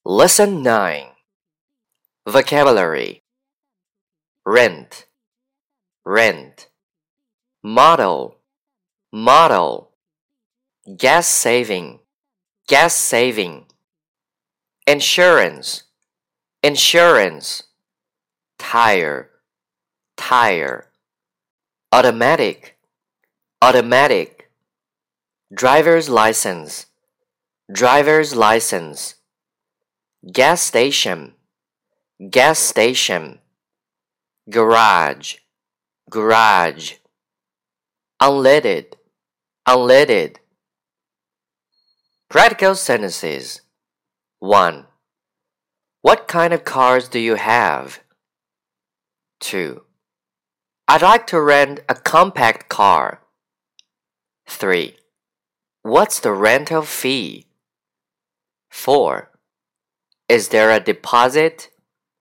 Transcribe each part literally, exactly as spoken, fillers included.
Lesson nine. Vocabulary. Rent, rent. Model, model. Gas saving, gas saving. Insurance, insurance. Tire, tire. Automatic, automatic. Driver's license, driver's license. Gas station, gas station. Garage, garage. Unleaded, unleaded. Practical sentences. one. What kind of cars do you have? two. I'd like to rent a compact car. three. What's the rental fee? four. Is there a deposit?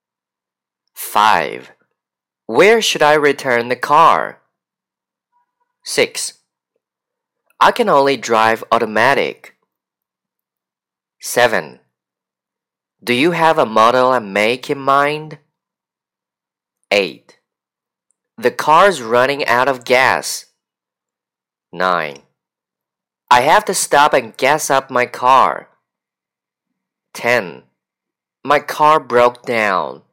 five. Where should I return the car? six. I can only drive automatic. seven. Do you have a model and make in mind? eight. The car's running out of gas. nine. I have to stop and gas up my car. ten. My car broke down.